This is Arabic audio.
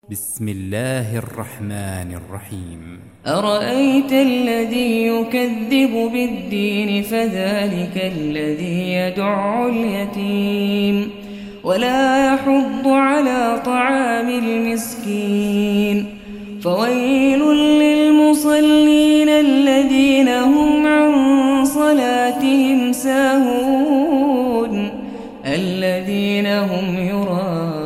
بسم الله الرحمن الرحيم. أرأيت الذي يكذب بالدين فذلك الذي يدع اليتيم ولا يحض على طعام المسكين فويل للمصلين الذين هم عن صلاتهم ساهون الذين هم يراءون